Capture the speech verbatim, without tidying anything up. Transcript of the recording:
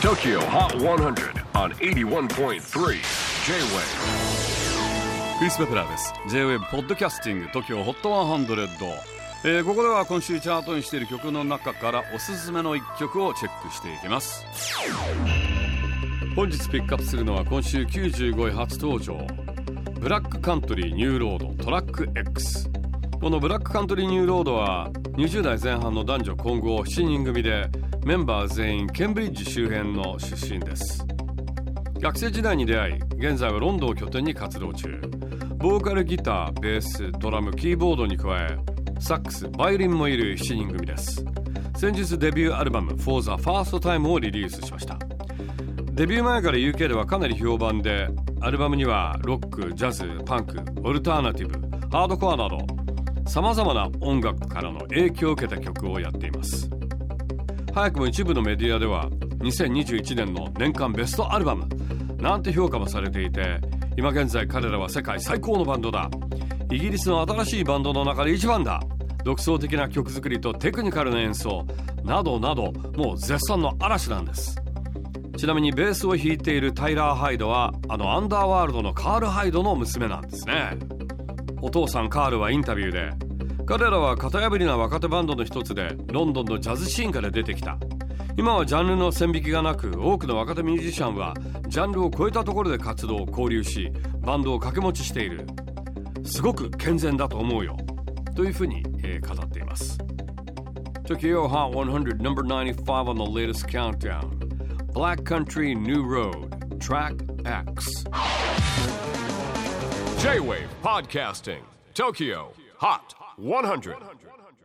トキオ ホット ひゃく on はちじゅういってんさん J-Wave クリス・ベプラーです。 J-Wave ポッドキャスティング トキオ ホット ひゃく、えー、ここでは今週チャートにしている曲の中からおすすめのいっきょくをチェックしていきます。本日ピックアップするのは今週きゅうじゅうごい初登場、ブラックカントリーニューロードトラック X。 このブラックカントリーニューロードはにじゅう代前半の男女混合しちにん組で、メンバー全員ケンブリッジ周辺の出身です。学生時代に出会い、現在はロンドンを拠点に活動中。ボーカル、ギター、ベース、ドラム、キーボードに加えサックス、バイオリンもいるしちにん組です。先日デビューアルバム For the First Time をリリースしました。デビュー前から ユーケー ではかなり評判で、アルバムにはロック、ジャズ、パンク、オルターナティブ、ハードコアなどさまざまな音楽からの影響を受けた曲をやっています。早くも一部のメディアではにせんにじゅういちねんの年間ベストアルバムなんて評価もされていて、今現在彼らは世界最高のバンドだ、イギリスの新しいバンドの中で一番だ、独創的な曲作りとテクニカルな演奏などなど、もう絶賛の嵐なんです。ちなみにベースを弾いているタイラー・ハイドはあのアンダーワールドのカール・ハイドの娘なんですね。お父さんカールはインタビューで、彼らは型破りな若手バンドの一つで、ロンドンのジャズシーンから出てきた。今はジャンルの線引きがなく、多くの若手ミュージシャンはジャンルを超えたところで活動交流し、バンドを掛け持ちしている。すごく健全だと思うよというふうに、えー、語っています。 Tokyo Hot ひゃく number ninety-five on the latest countdown, Black Country New Road Track X。 J-Wave Podcasting Tokyo Hot ひゃく